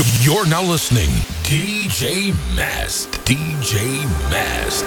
You're now listening DJ Mast. DJ Mast.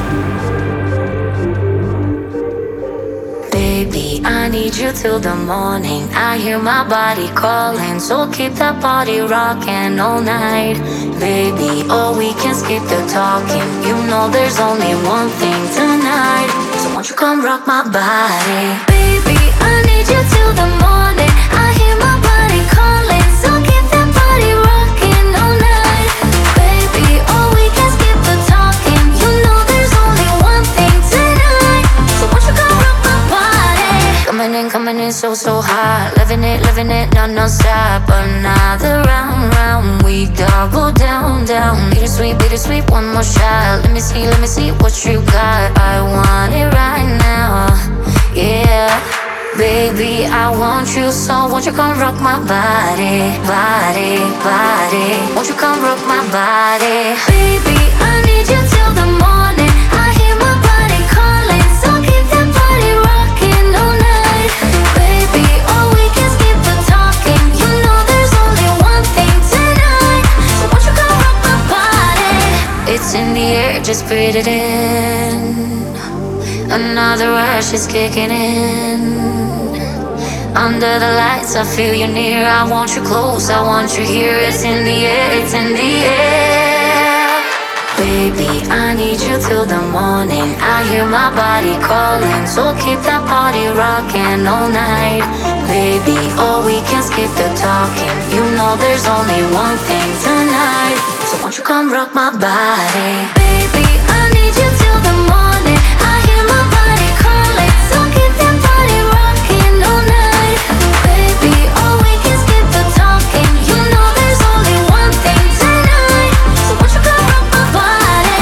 Baby, I need you till the morning. I hear my body calling, so keep that body rocking all night. Baby, oh, we can skip the talking. You know there's only one thing tonight, so won't you come rock my body? Baby, I need you till the morning. I hear my body calling, so keep that body rocking all night. Baby, oh, we can skip the talking. You know there's only one thing tonight, so won't you come rock my body? Coming in so hot. Living it, non-stop. Another round, we double down. Bittersweet, one more shot. Let me see what you got. I want it right now, yeah. Baby, I want you, so won't you come rock my body? Won't you come rock my body? Baby, I need you till the morning. I hear my body calling, so keep that body rocking all night. Baby, oh, we can skip the talking. You know there's only one thing tonight, so won't you come rock my body? It's in the air, just breathe it in. Another rush is kicking in. Under the lights, I feel you near. I want you close, I want you here. It's in the air, it's in the air. Baby, I need you till the morning. I hear my body calling, so keep that body rocking all night. Baby, oh, we can skip the talking. You know there's only one thing tonight, so won't you come rock my body? Baby, I need you till the morning. I hear my body calling, so keep that body rocking all night. Baby, oh, we can skip the talking. You know there's only one thing tonight, so won't you come rock my body?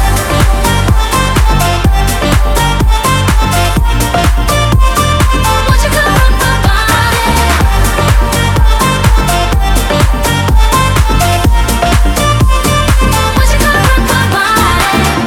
Won't you come rock my body? Won't you come rock my body?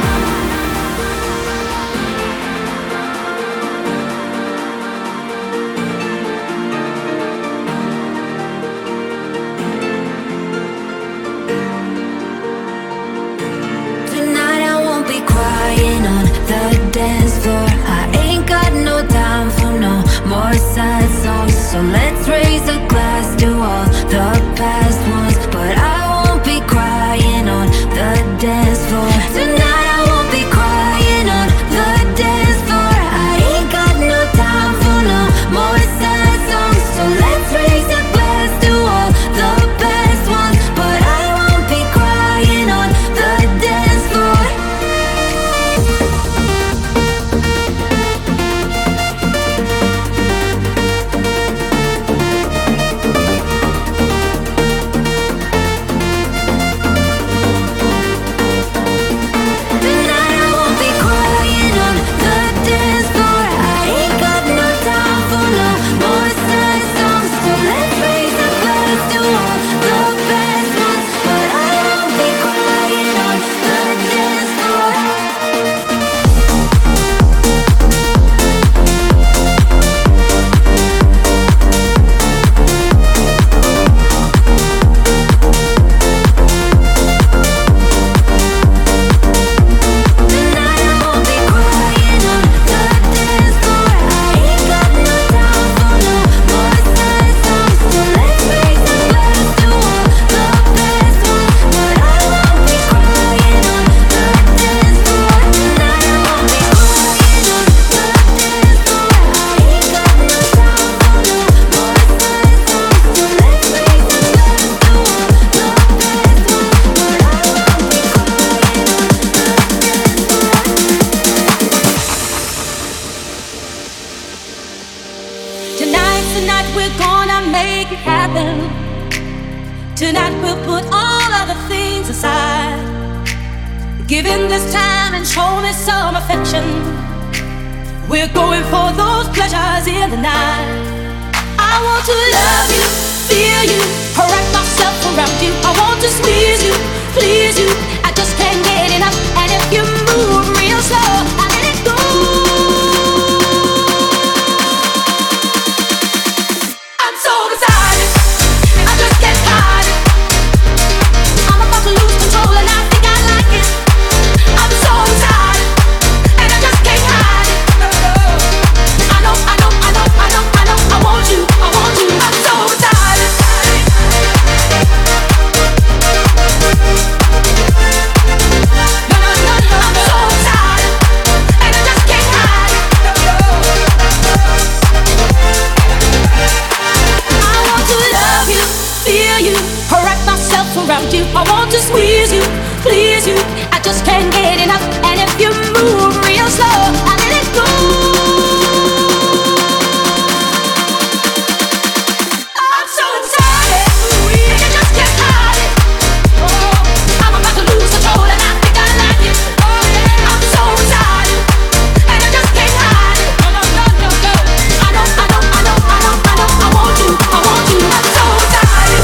Tonight I won't be crying on the dance floor. I ain't got no time for no more sad songs. So let's raise a glass to all the past ones. But I won't be crying on the dance floor. Tonight I won't be crying on the dance floor. I ain't got no time for no more sad songs. So let's raise a glass to all the past ones. But I won't be crying on the dance floor. Tonight I won't be crying on the dance floor. I ain't got no time for no more sad songs. So let's raise a glass to all the best ones. But I won't be crying on the dance floor. Tonight I won't be crying on the dance floor. I ain't got no time for no more sad songs. So let's raise a glass to all the best ones. But I won't be crying on the dance floor. Tonight I won't be crying on the dance floor. I ain't got no time for no more sad songs. So let's raise a glass to all the best ones. But I won't be crying on the dance floor. Tonight's the night we're gonna make it happen. Tonight we'll put all other things aside. Give in this time and show me some affection. We're going for those pleasures in the night. I want to love you, feel you, wrap myself around you. I want to squeeze you, please you. I just can't get enough. And if you move real slow, I let it go. I'm so beside it. I just can't hide it. myself around you. I want to squeeze you, please you. I just can't get enough. And if you move real slow, I let it go. I'm so excited, and you just can't hide it. Oh, I'm about to lose control, and I think I like it. Oh yeah, I'm so excited, and I just can't hide it. No, no, no, no, no. I know, I want you, I want you. I'm so excited.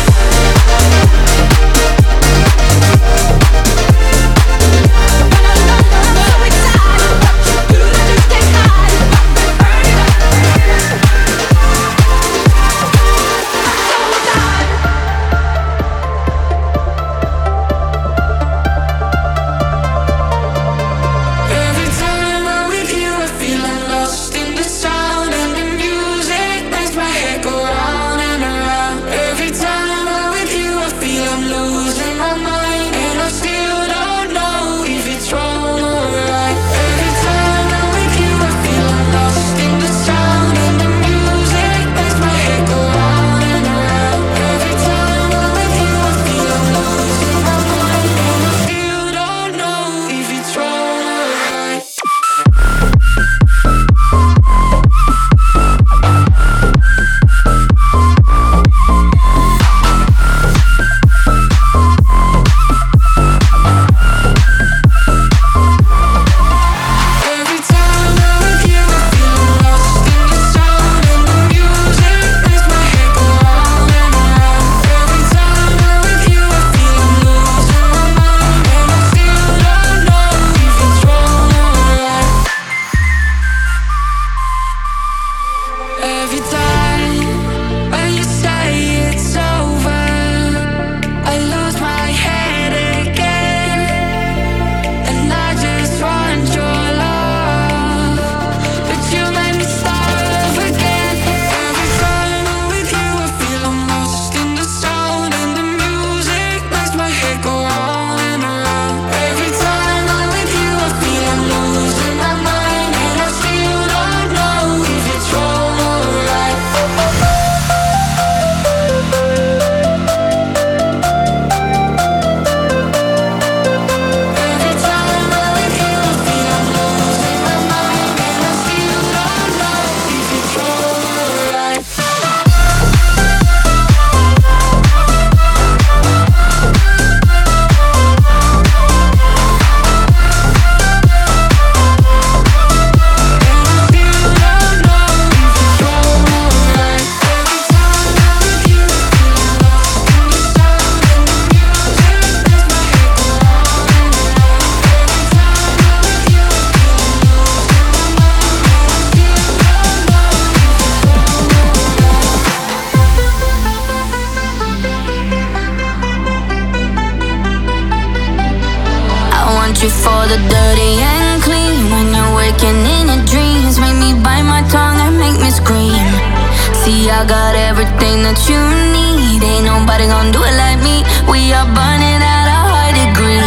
You for the dirty and clean. When you're waking in your dreams, make me bite my tongue and make me scream. See, I got everything that you need. Ain't nobody gonna do it like me. We are burning at a high degree.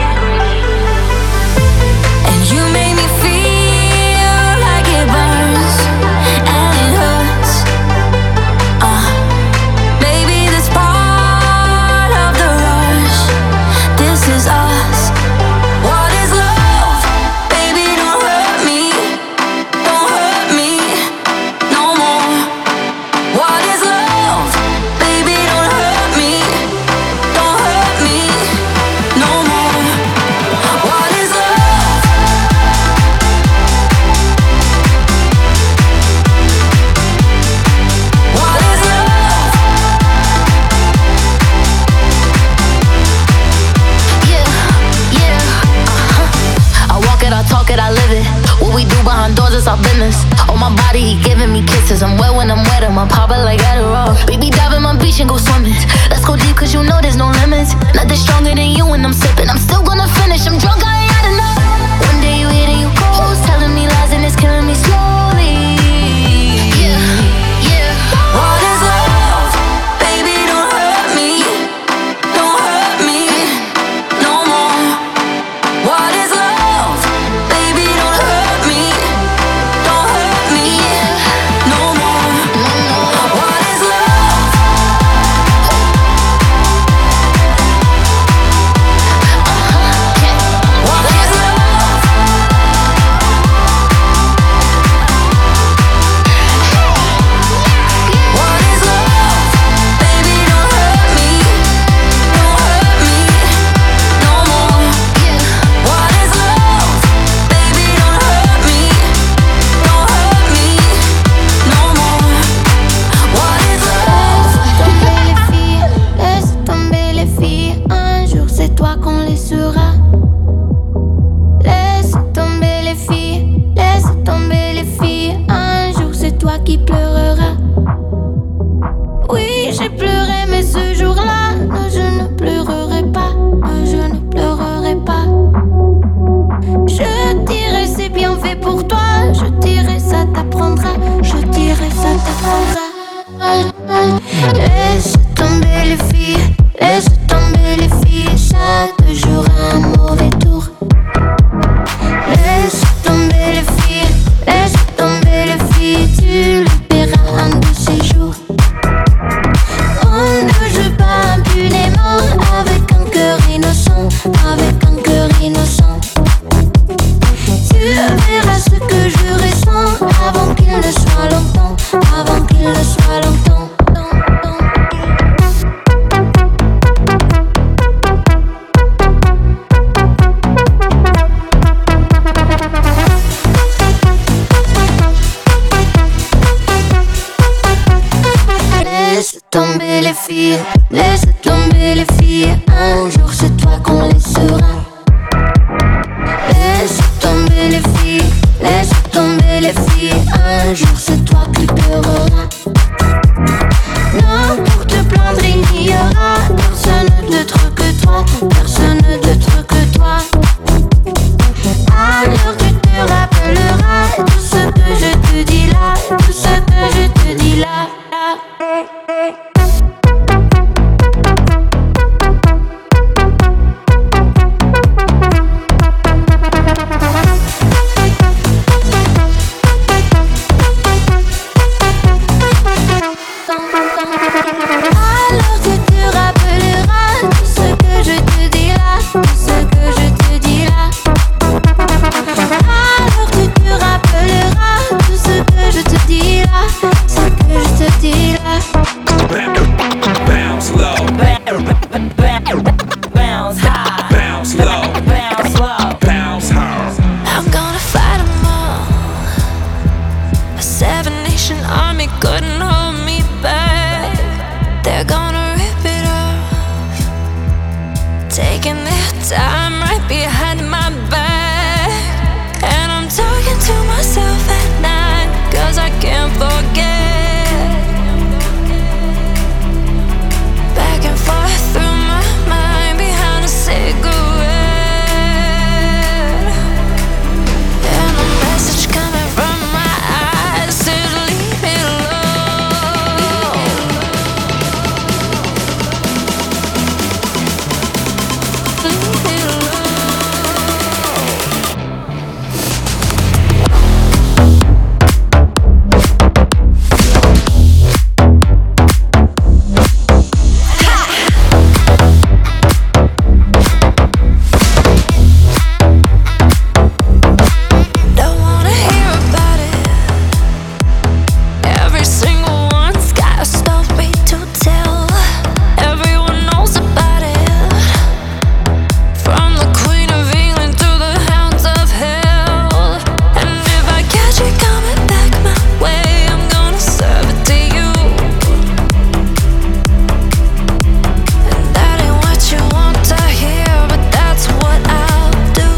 And you make me feel like it burns and it hurts. Baby, this part of the rush. This is us. What is love? Baby, don't hurt me. Don't hurt me no more. What is love? Baby, don't hurt me. Don't hurt me no more. What is love? What is love? Yeah, yeah, I walk it, I talk it, I live it. What we do behind doors is our business. On my body, he giving me kisses. I'm wet when I'm wet, I'm popping like Adderall. Baby, dive in my beach and go swimming. Let's go deep, cause you know there's no limits. Nothing stronger than you when I'm sipping. I'm still gonna finish, I'm drunk, I ain't had enough. One day you hit and you close, telling me lies and it's killing me slowly. Yeah, yeah. What is love? Baby, don't hurt me. Don't hurt me no more. What is love? Baby, don't hurt me. Don't hurt me no more. What is love? laisse tomber les filles, ça te jouera un mauvais tour. Laisse tomber les filles, laisse tomber les filles, tu le paieras un de ces jours. On ne joue pas impunément avec un cœur innocent, avec un cœur innocent. Tu verras ce que je ressens avant qu'il ne soit longtemps, avant qu'il ne soit longtemps. Laisse tomber les filles, laisse tomber les filles, un jour c'est toi qu'on laissera. Laisse tomber les filles, laisse tomber les filles, un jour c'est toi qui pleureras. Non, pour te plaindre il n'y aura personne d'autre que toi, personne d'autre que toi. Alors tu te rappelleras tout ce que je te dis là, tout ce que je te dis là. Alors tu te rappelleras tout ce que je te dis là, tout ce que je te dis là. Alors tu te rappelleras tout ce que je te dis là, ce que je te dis là. Bounce low, bounce high, bounce low, bounce high. I'm gonna fight 'em all. A 7-nation army couldn't hold me back. They're gonna rip it off, taking their time right behind my back. And I'm talking to myself at night, 'cause I can't forget. Back and forth through my mind behind a cigarette. And a message coming from my eyes says leave me alone. Leave me alone. Don't wanna hear about it. Every single one's got a story to tell. Everyone knows about it. From the Queen of England to the hounds of hell. And if I catch it coming back my way, I'm gonna serve it to you. And that ain't what you want to hear, but that's what I'll do.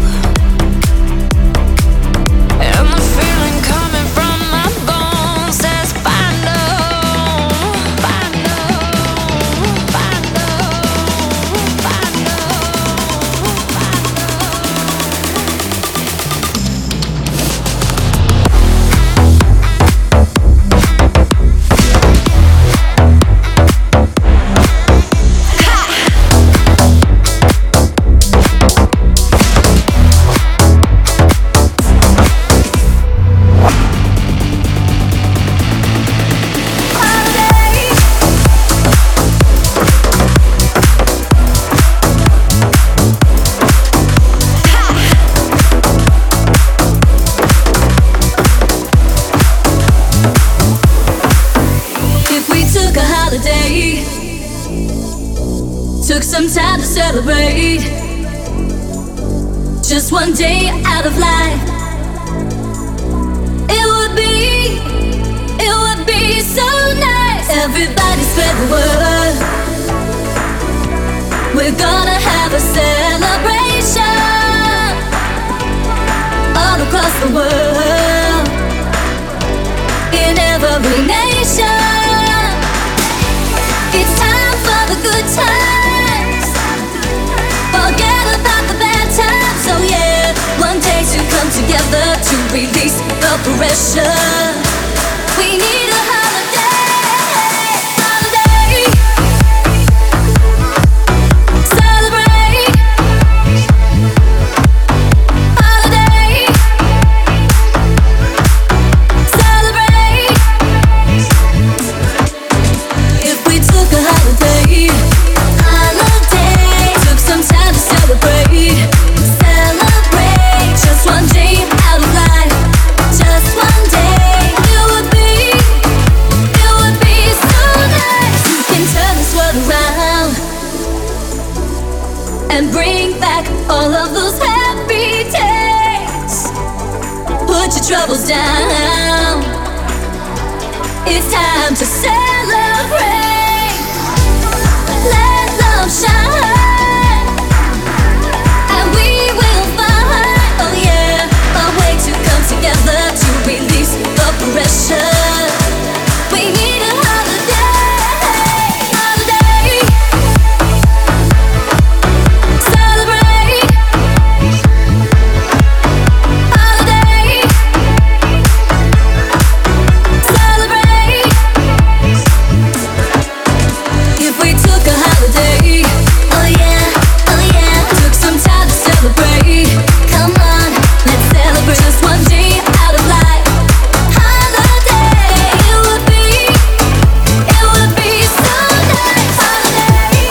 And the feeling coming from my bones says find 'em, find 'em, find 'em, find 'em. If we took a holiday, took some time to celebrate, just one day out of life, it would be so nice. Everybody spread the word, we're gonna have a celebration all across the world, in every nation. It's time for the good times, forget about the bad times. Oh yeah, one day to come together to release the pressure. We need a holiday, holiday. and bring back all of those happy days. Put your troubles down. It's time to celebrate. Let love shine, and we will find, oh yeah, a way to come together to release the pressure. We need a holiday, holiday. Celebrate, holiday. Celebrate. If we took a holiday, oh yeah, oh yeah. Took some time to celebrate. Come on, let's celebrate this one day out of life. Holiday, it would be so nice. Holiday.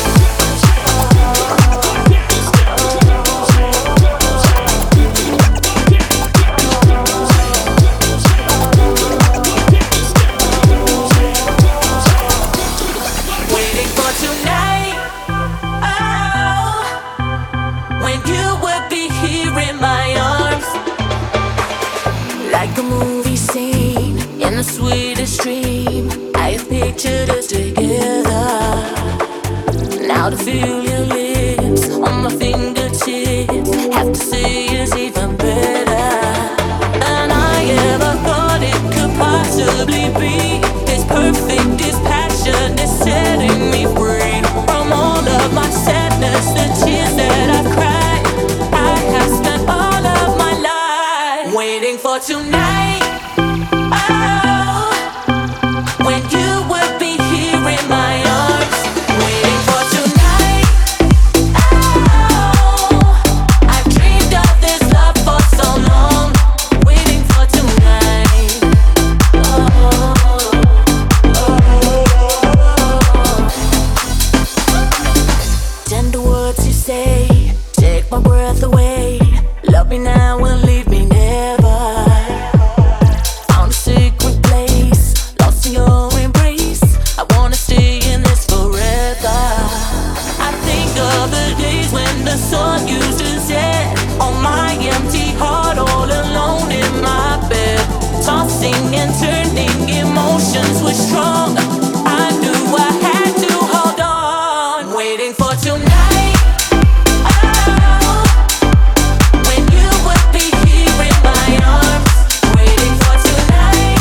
Waiting for tonight. Oh, when you would be here in my arms, like a movie scene in the sweetest dream. I have pictured us together. Now to feel your lips on my fingertips, have to say it's even better than I ever thought it could possibly be. It's perfect, this passion is setting me free from all of my sadness, the tears that I've cried. I have spent all of my life waiting for tonight. Oh, when you would be here in my arms, waiting for tonight. Oh, I've dreamed of this love for so long, waiting for tonight. Tender words you say, take my breath away. Love me now and leave me never. Found a secret place, lost in your embrace. I wanna stay in this forever. I think of the days when the sun used to set on my empty heart, all alone in my bed. Tossing and turning, emotions were strong. I knew I had to hold on, waiting for tonight. Oh, when you would be here in my arms, waiting for tonight.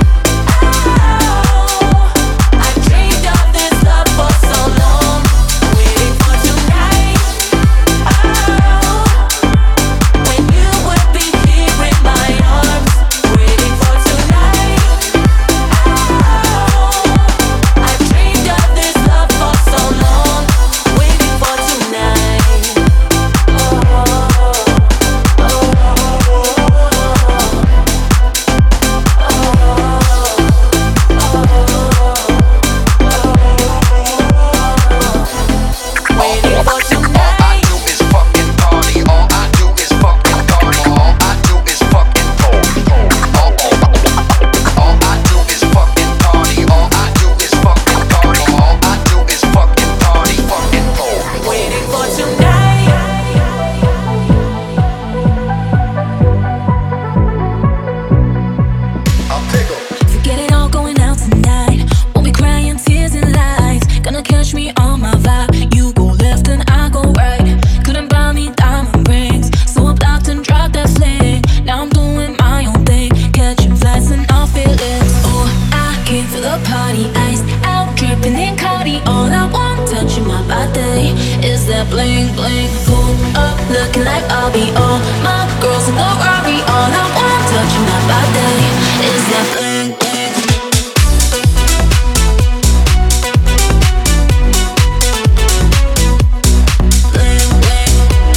Oh, I've dreamed of this love for so long, waiting for tonight. Oh, when you would be here in my arms, waiting for tonight. Oh, I've dreamed of this love for so long, waiting for tonight. Waiting for tonight. Waiting for tonight. Forget it all, going out tonight. Won't be crying tears and lies. Gonna catch me on my vibe. You go left and I go right. Couldn't buy me diamond rings, so I blocked and dropped that fling. Now I'm doing my own thing, catching flights and all feelings. Oh, I came for the party, iced out, dripping in Cardi. All I want touching my body is that bling bling. Pull up, looking like I'll be all my girls in the Rari. All I want touching my body is that bling bling. Bling bling.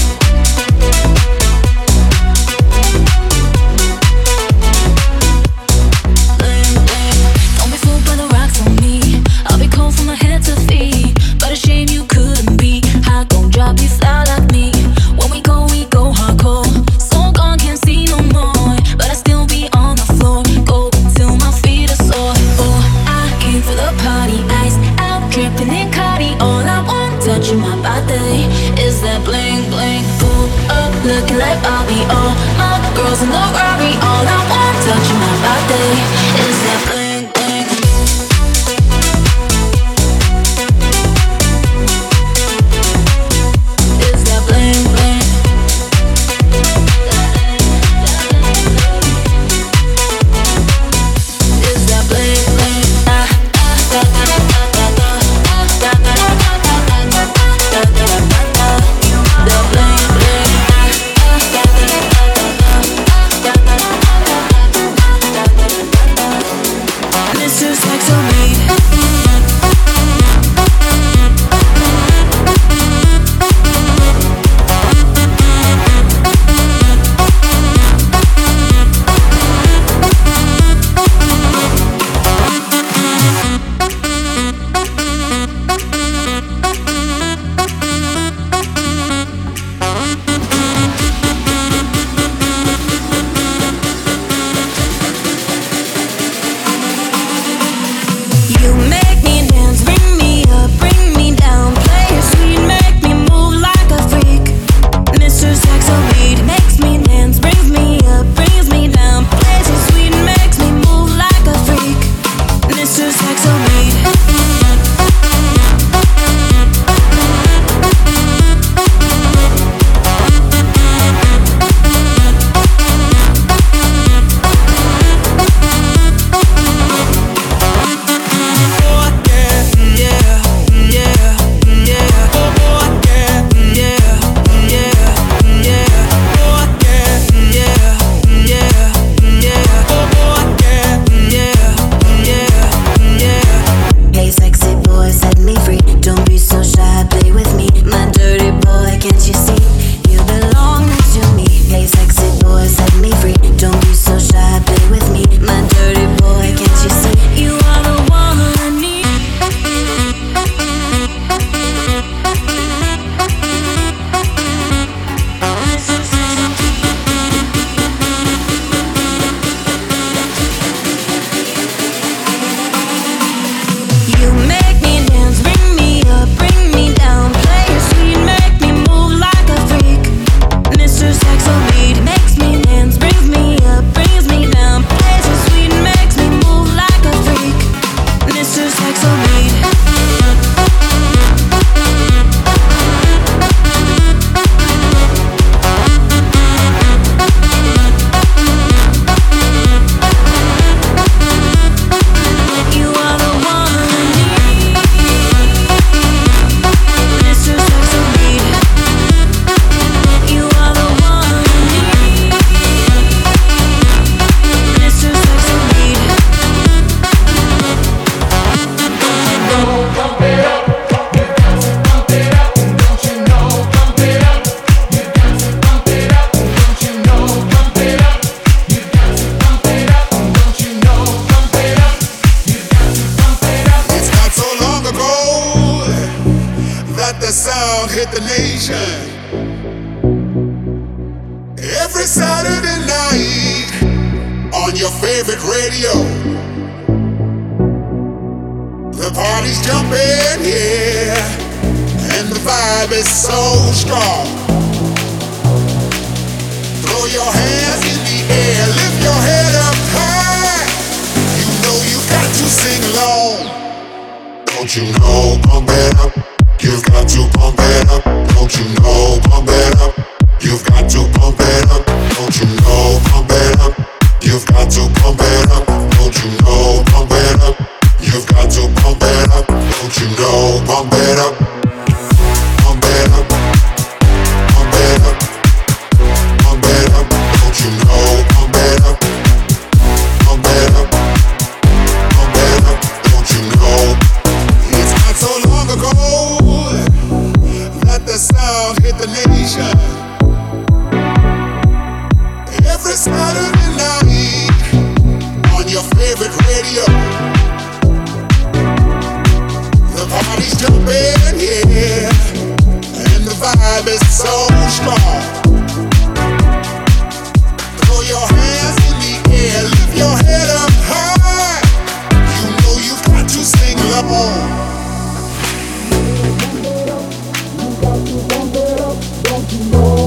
Bling bling. Don't be fooled by the rocks on me. I'll be cold from my head to feet. But a shame you couldn't be hot, gon' drop you fly like me. When we go hardcore. So gone, can't see no more. But I still be on the floor. Go till my feet are sore. Oh, I came for the party, iced out, dripping in Cardi. All I want touching my body is looking like Bobby. All my girls in the Rari, all I want, touching my body, is that bling bling. Is that bling bling? Is that bling bling? Mr. Sexo Don't you know?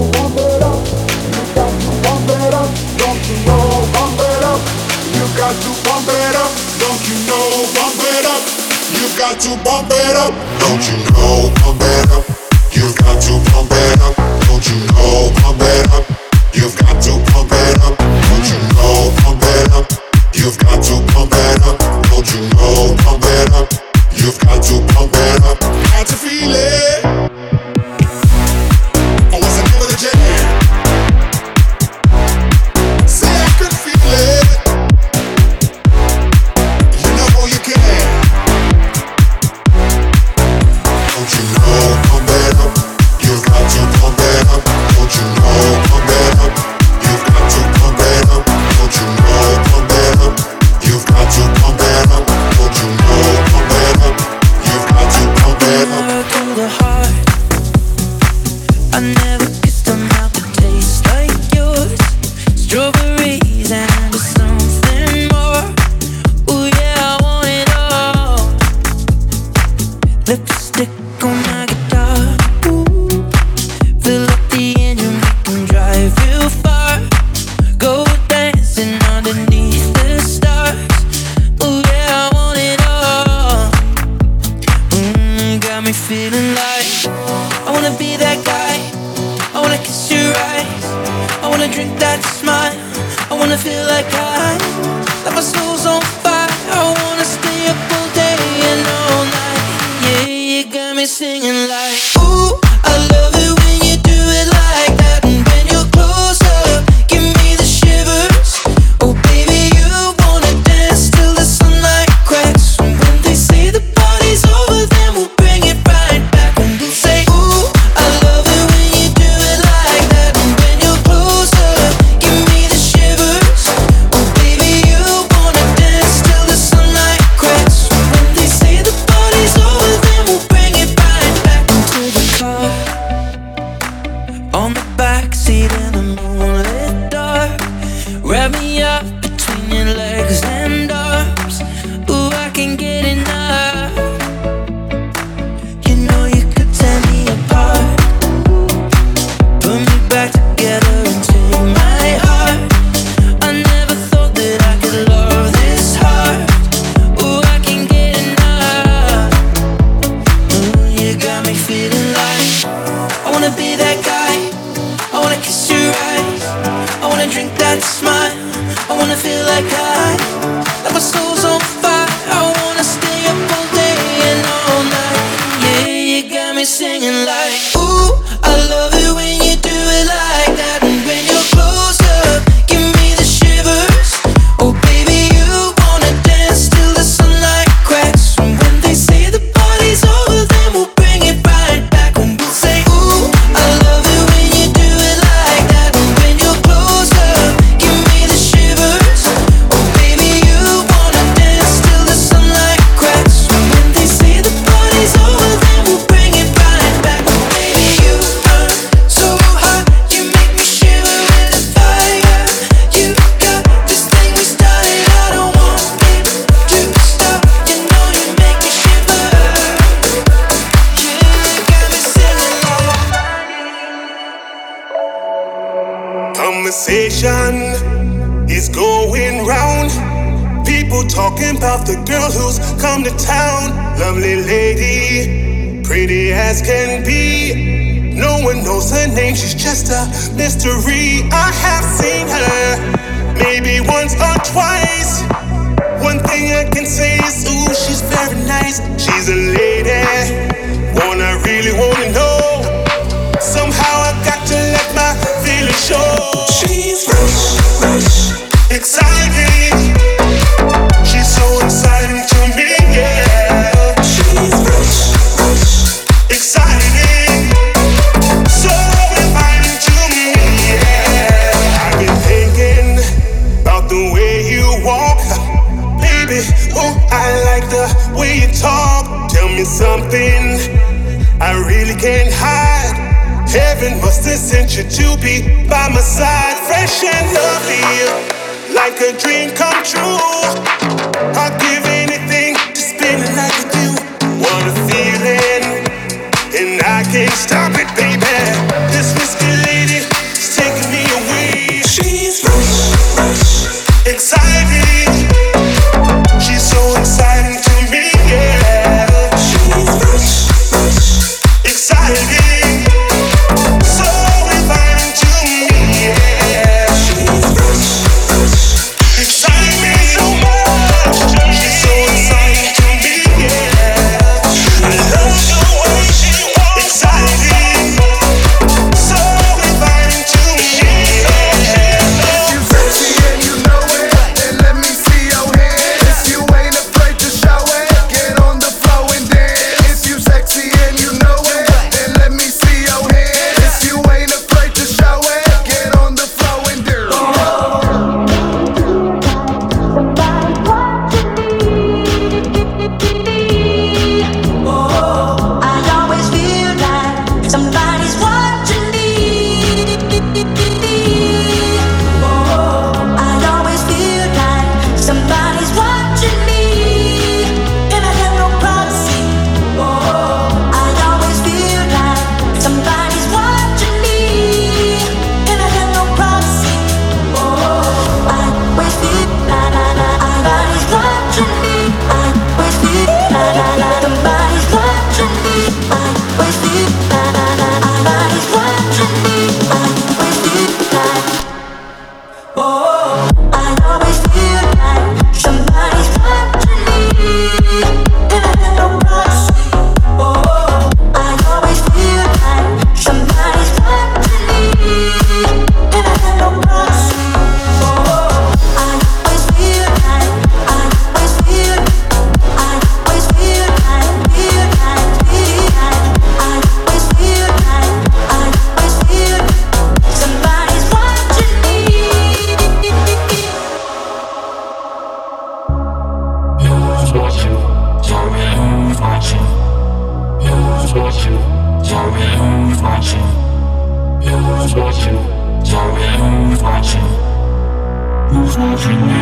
pump it up. Don't you know, pump it up. You've got to pump it up. Don't you know, pump it up. You've got to pump it up. Don't you know, pump it up. You've got to pump it up. Don't you know, pump it up. You've got to pump it up. Got to feel it. Oh, what's the name of the jam? Say I could feel it. You know you can. Don't you know, pump it up. You've got to pump it up. Don't you know, pump it up. You've got to pump it up. Don't you know, pump it up. You've got to pump it up. Don't you know, pump it up. You've got to pump it up. Arrow to the heart. I never kissed a mouth that tastes like yours. Strawberries and something more. Ooh yeah, I want it all. Lipstick on my guitar. Ooh. Fill up the engine, we can drive real far. Go dancing underneath the stars. Ooh yeah, I want it all. Got me feeling like I wanna be that guy. I wanna kiss your eyes. I wanna drink that smile. I wanna feel like my soul's on fire. I wanna stay up all day and all night. Yeah, you got me singing like, ooh, I love it when you do it like that. And when you're close up, give me the shivers. Oh baby, you wanna dance till the sunlight cracks. And when they say the party's over, then we'll bring it right back. And we'll say, ooh, I love it when you do it like that. And when you're close up, give me the shivers. Oh baby, you wanna dance till the sunlight cracks. And when they say the party's over, then we'll bring it right back into the car. On the backseat in the moonlit dark. Wrap me up between your legs and arms. Ooh, I can't get enough. You know you could tear me apart. Put me back together and take my heart. I never thought that I could love this hard. Ooh, I can't get enough. Ooh, you got me feeling like I wanna be that guy. I wanna kiss your eyes. I wanna drink that smile. I wanna feel like my soul's on fire. I wanna stay up all day and all night. Yeah, you got me singing like, ooh, I love it when you do it like that. And when you're close up, give me the shivers. Oh baby, you wanna dance till the sunlight cracks. And when they say the party's over, then we'll bring it right back. And we'll say, ooh, I love it when you do it like that. And when you're close up, give me the shivers. Oh baby, you wanna dance till the sunlight cracks. And when they say the party's over, then we'll bring it right back. Oh baby, you burn so hot, you make me shiver with the fire. You got this thing we started, I don't want it to stop. You know you make me shiver. Yeah, you got me singing like. Conversation is going round. People talking about the girl who's come to town. Lovely lady, pretty as can be. No one knows her name, she's just a mystery. I have seen her maybe once or twice. One thing I can say is, ooh, she's very nice. She's a lady, really wanna know. Somehow I got to let my feelings show. She's fresh, fresh, exciting. She's so exciting to me, yeah. She's fresh, fresh, exciting. So inviting to me, yeah. I've been thinking about the way you walk, baby. Oh, I like the way you talk. Tell me something I really can't hide. Heaven must have sent you to be by my side. Fresh and lovely, like a dream come true. I'll give anything to spend the night with you. What a feeling, and I can't stop it, baby. This whiskey lady is taking me away. She's fresh, fresh, exciting. She's so exciting to me, yeah. exciting, so inviting to me. Yeah, she's exciting me so much. She's so exciting to me. Yeah, I love the way she walks. Exciting, so inviting to me. Yeah. If you sexy and you know it, then let me see your hands. If you ain't afraid to show it, get on the floor and dance. If you sexy and you know it, then let me see your hands. If you ain't afraid to show it, get on the floor and dance. I always feel like somebody's watching me. I always feel like somebody's watching me, and I have no privacy. I always feel like somebody's watching me, and I have no privacy. I always feel like somebody's watching me. I always feel like somebody's watching me. I always feel like somebody's watching me. I always feel like. I always feel like somebody's watching me, and I have no privacy. I always feel like somebody's watching me, and I have no privacy. I always feel like, I always feel like I always feel like somebody's watching me. Who's watching? Tell me who's watching. Who's watching? Tell me who's watching. Who's watching? Tell me who's watching. Who's watching me?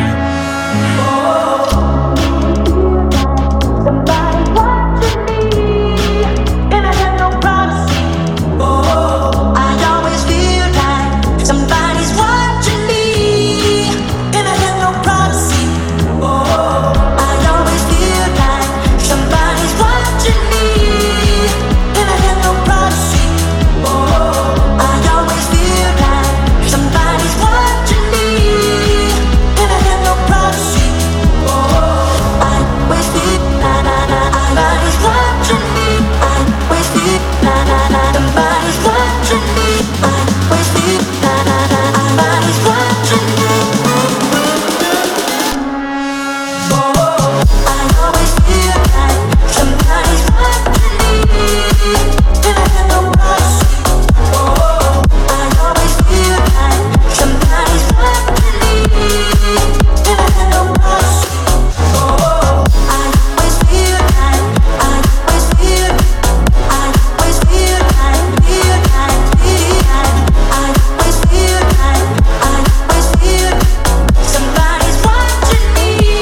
Somebody's watching me, and I have no privacy. I always feel like somebody's watching me, and I have no privacy. I always feel like somebody's watching me, and I have no privacy. I always feel like somebody's watching me, and I have no privacy. I always feel like somebody's watching me. I always feel like somebody's watching me. I always feel like somebody's watching me. I always feel like somebody's watching me, and I have no privacy. I always feel like somebody's watching me, and I have no privacy. I always feel like, I always feel like I always feel like somebody's watching me.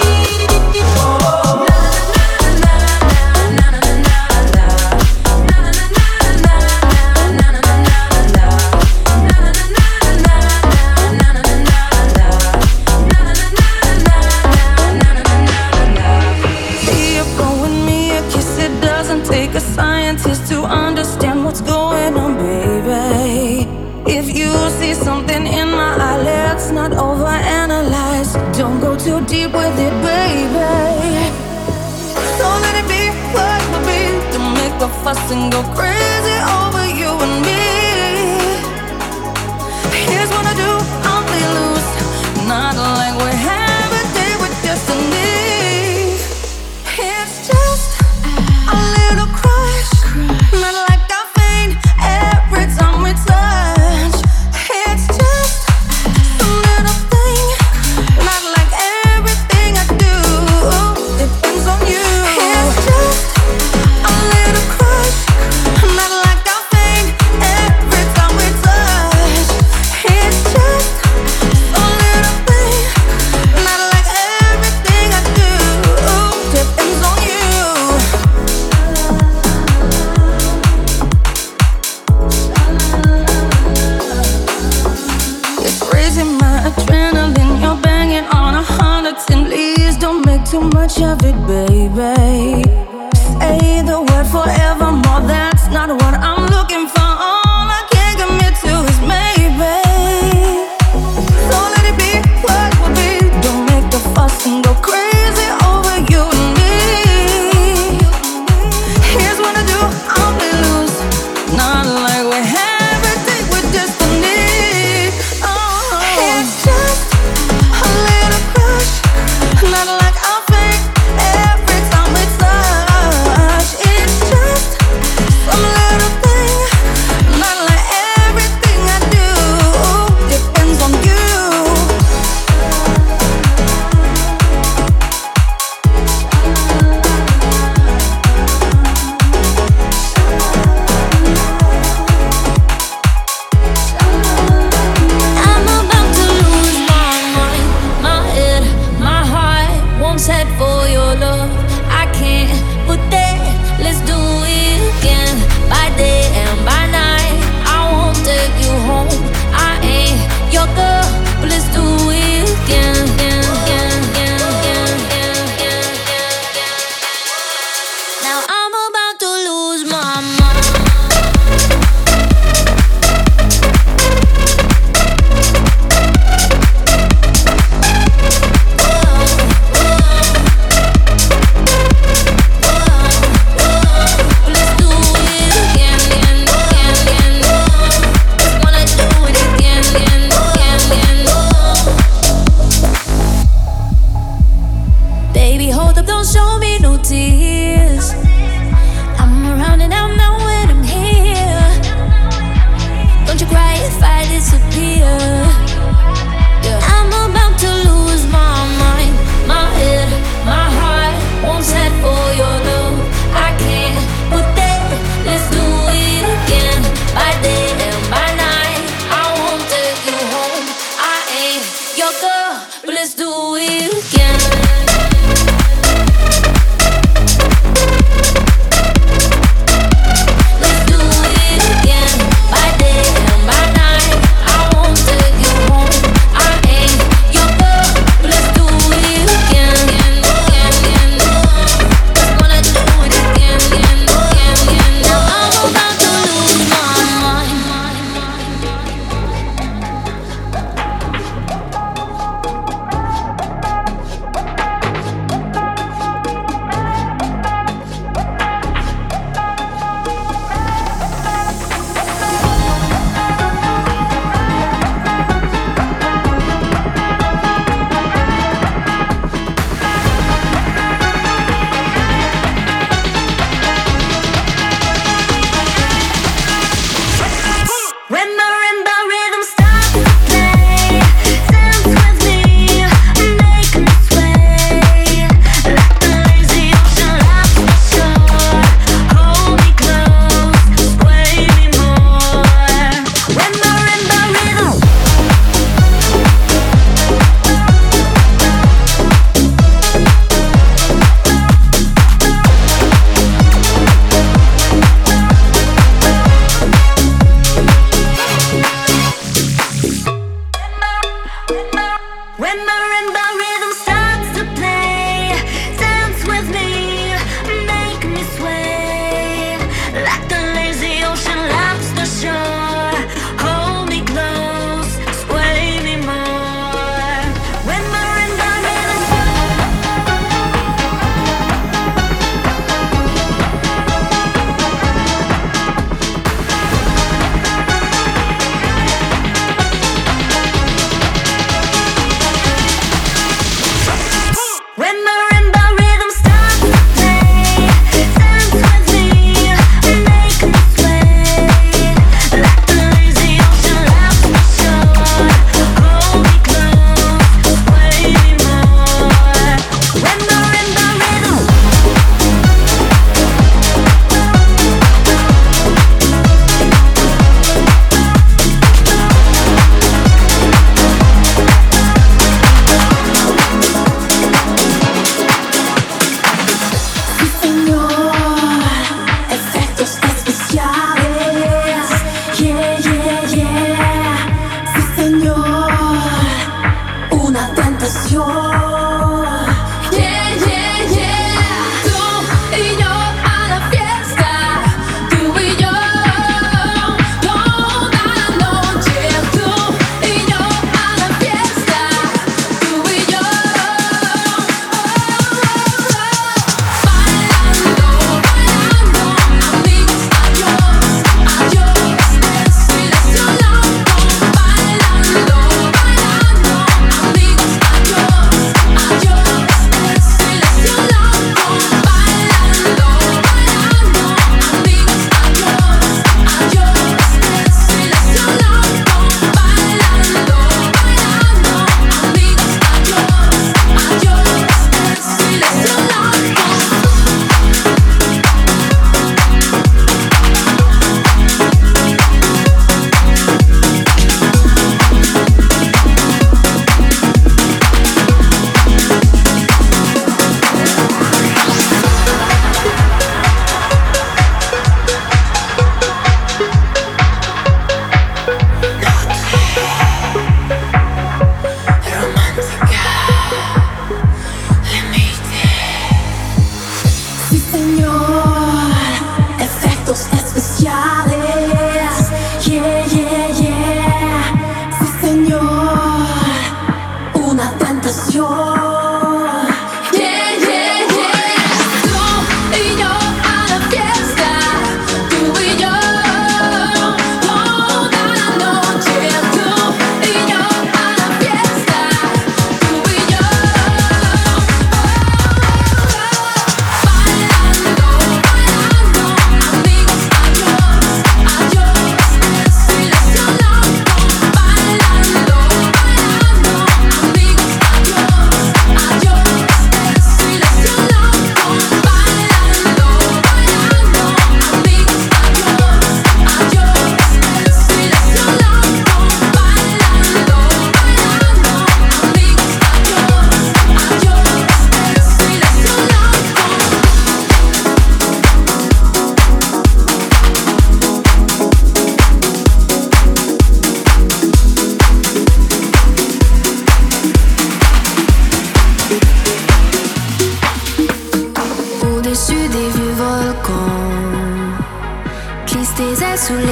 Be a phone with me, a kiss. It doesn't take a scientist to understand what's going on, baby. If you see something in my eye, let's not overanalyze. Don't go too deep with it, baby. So let it be what it will be. Don't make a fuss and go crazy over you and me. Here's what I do, I'll play loose. Not like we have a day with destiny. It's just a little crush, not like I faint every time we touch. It's just a little thing, not like everything I do depends on you. It's just a little crush, not like I faint every time we touch. It's just a little thing, not like everything I do depends on you. It's raising my adrenaline. You're banging on 110. Please don't make too much of it, baby. Say the word forevermore. That's not what I'm looking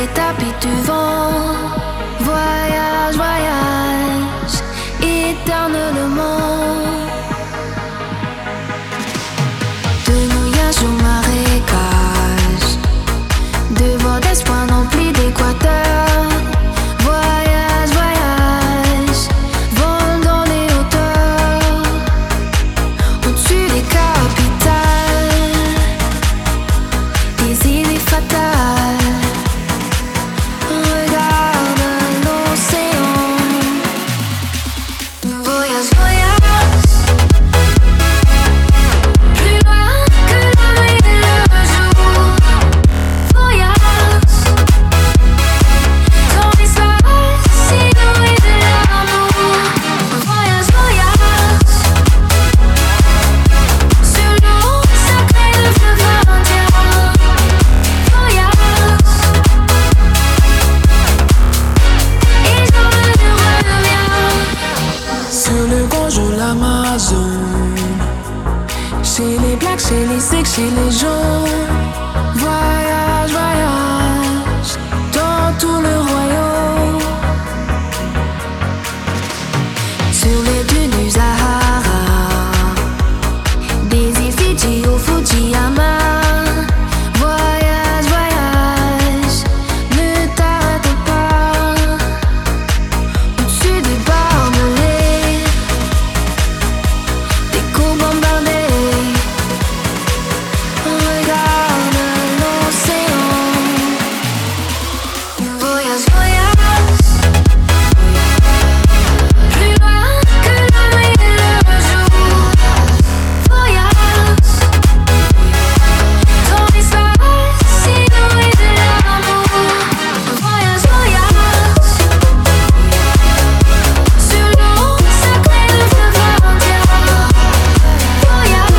les tapis du vent. Voyage, voyage, éternellement. De mouillage au marécage, de vent d'espoir rempli d'équateur. Voyage, voyage, vol dans les hauteurs, au-dessus des capitales, des idées fatales. Regarde l'océan. Voyage, voyage, plus loin que la nuit et le jour. Voyage dans l'espace inouï de l'amour. Voyage, voyage sur l'eau sacrée de fleuve indien. Voyage et je ne reviens. C'est le bonjour l'Amazone. Chez les blacks, chez les sikhs, chez les jaunes. Voyage, voyage dans tout le royaume. Sur les dunes du Sahara, des îles Fidji au Fujiyama. Voyage, voyage, ne t'arrête pas. Au-dessus des barbelés, des coups bombardés. Regarde l'océan. Voyage, voyage, plus loin que la nuit et le jour. Voyage dans l'espace inouï de l'amour. Voyage, voyage sur l'eau sacrée de fleuve indien. Voyage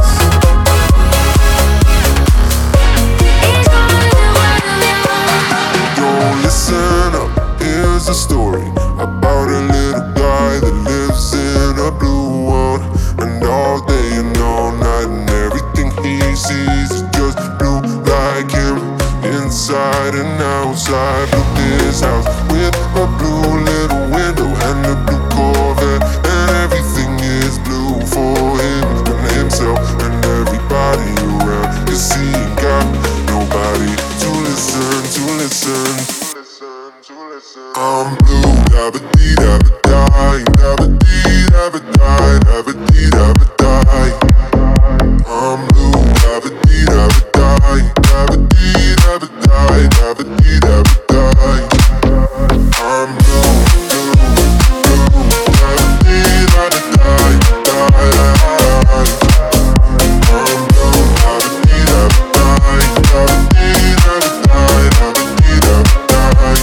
et je ne reviens. Yo, listen up, here's a story about a little guy that lives in a blue world. And all day and all night and everything he sees is just blue like him. Inside and outside, built this house with a blue little window and a blue Corvette. And everything is blue for him and himself and everybody around. 'Cause he ain't got nobody to listen, to listen. I'm blue, dabba-dee-dabba-die, dabba-dee-dabba-die, dabba-dee-dabba-die. I'm blue, dabba-dee-dabba-die, dabba-dee-dabba-die, dabba-dee-dabba-die. I'm blue, blue, blue, dabba-dee-dabba-die, die. I'm blue, dabba-dee-dabba-die, dabba-dee-dabba-die, dabba-dee-dabba-die.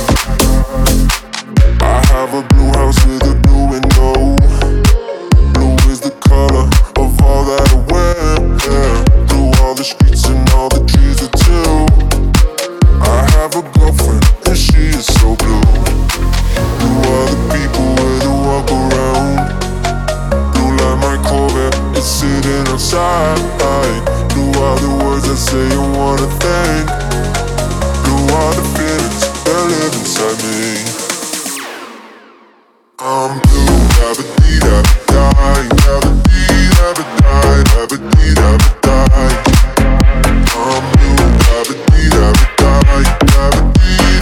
I have a blue house with a blue window. Blue is the color of all that I wear. Blue all the streets and all the trees are too. I have a girlfriend and she is so blue. Blue are the people where they walk around. Blue like my Corvette, it's sitting outside. Blue are the words I say I wanna thank. Blue are the feelings that live inside me. I'm blue, dabba-dee-dabba-die, dabba-dee-dabba-die, dabba-dee-dabba-die. I'm blue, dabba-dee-dabba-die, dabba-dee-dabba-die.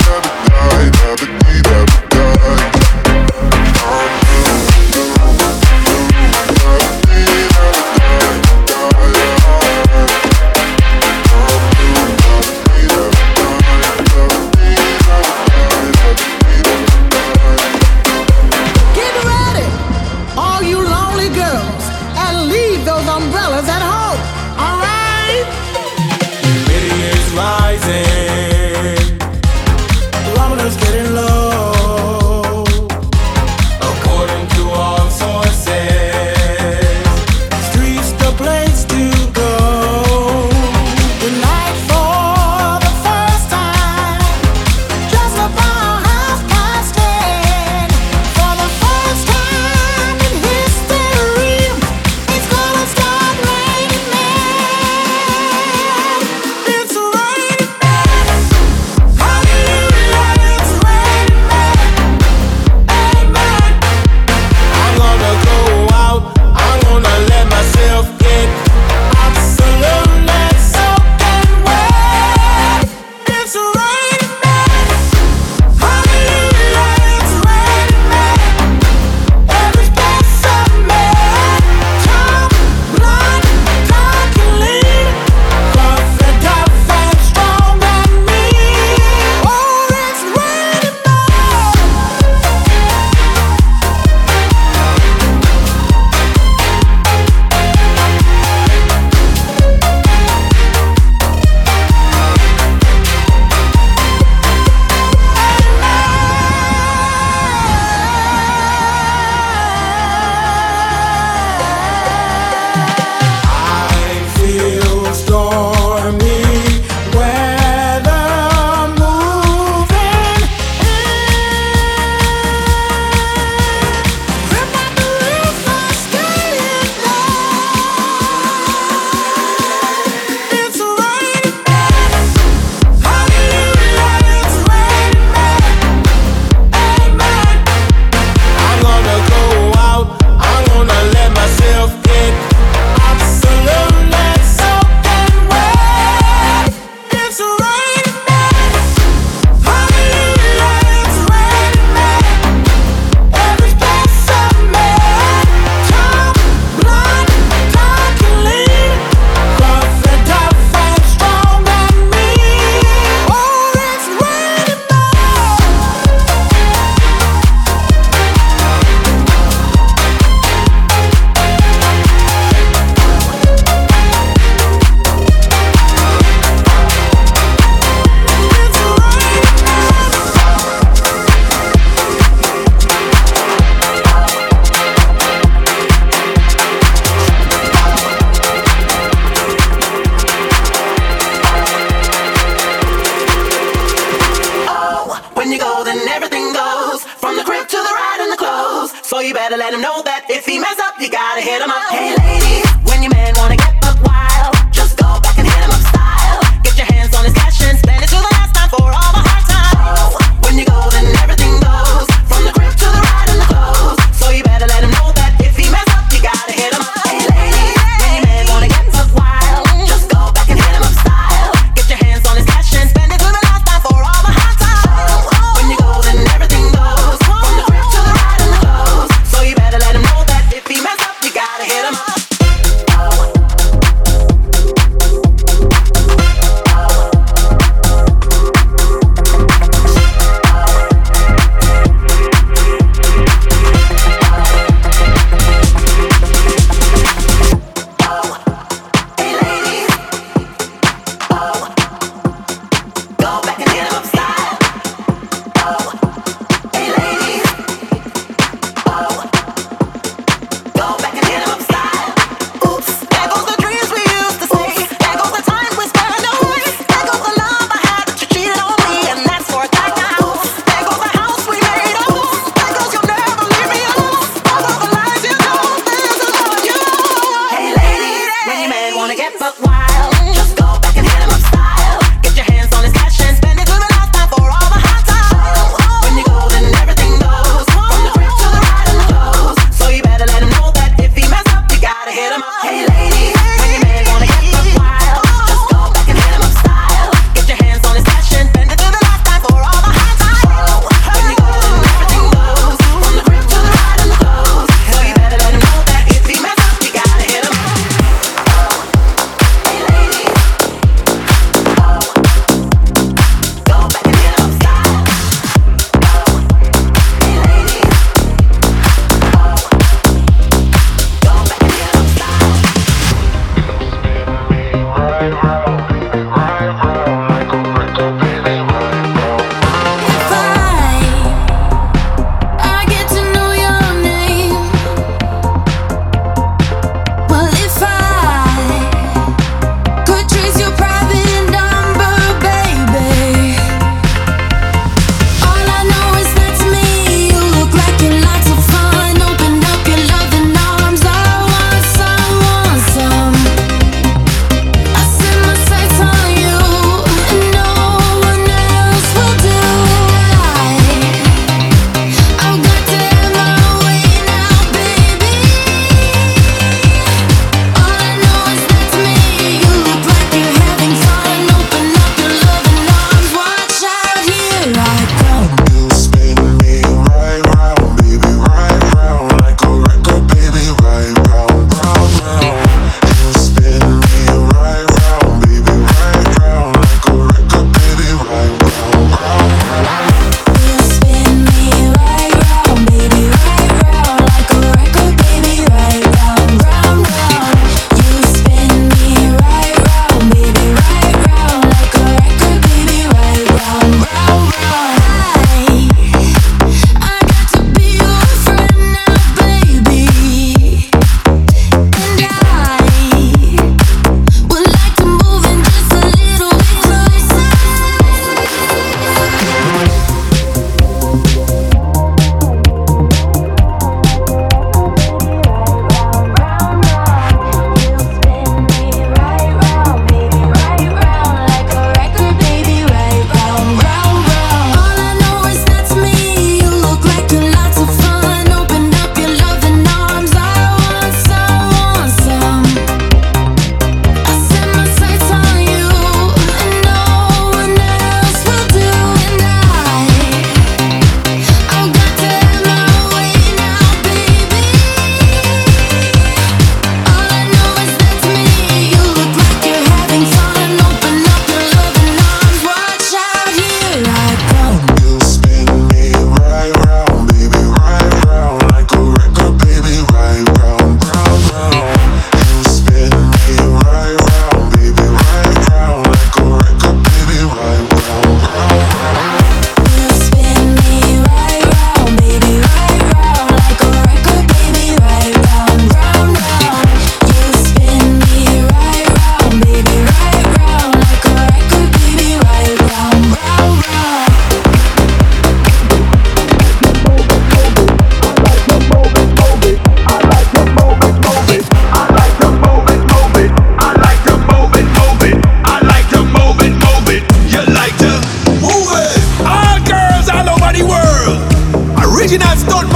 When you go, then everything goes. From the crib to the ride and the clothes. So you better let him know that if he mess up, you gotta hit him up. Hey ladies, when your man wanna get buck wild, just go back and hit him up style. Get your hands on his cash and spend it till the last time for all the hard times. When you go, then everything goes. From the crib to the ride and the clothes. So you better let him know that if he mess up, you gotta hit him up. Hey ladies, when your man wanna get buck wild, just go back and hit him up style. Get your hands on his cash and spend it till the last time for all the hard times. When you go, then everything goes. From the crib to the ride and the clothes. So you better let him know that if he mess up, you gotta hit him up.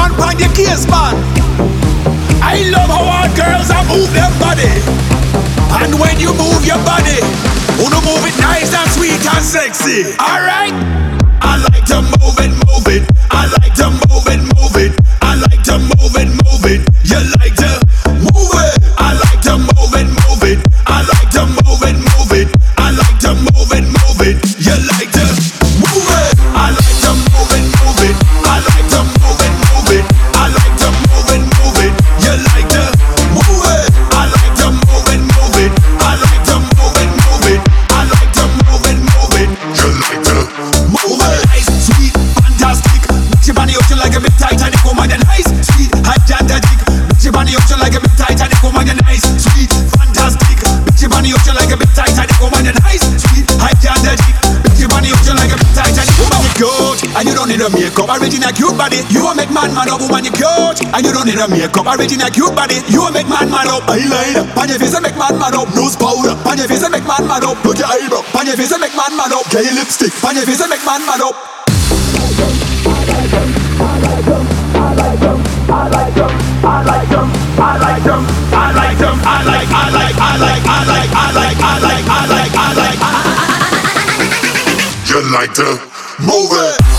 one on your case, man. I love how our girls are move their body. And when you move your body, wanna move it nice and sweet and sexy. Alright? I like to move it, move it. I like to move it, move it. I like to move it, move it. You like to move it. I like to move it, move it. I like to move it, move it. I like to move it, move it. You like to move it. I like to move it, move it. I like to move it, move it. I like to move it, move it. You like to move it. I like to move it, move it. I like to move it, move it. I like to move it, move it. You like to move it. Nice, sweet, fantastic. Mix your body ocean like a big Titanic. Oh my, nice, sweet, gigantic. Mix your body ocean like a big Titanic. Oh my, nice, sweet, fantastic. Mix your body ocean like a big Titanic. Oh my, nice, sweet, gigantic. Mix your body ocean like a big Titanic. Woman, you cute, and you don't need a makeup. Original cute body, you will make man mad up. Woman, you cute, and you don't need a makeup. Original cute body, you will make man mad up. Eyeliner, on your face and make man mad up. Nose powder, on your face and make man mad up. Put your eyebrow, on your face and make man mad up. Get your lipstick, on your face and make man mad up. You like to move it.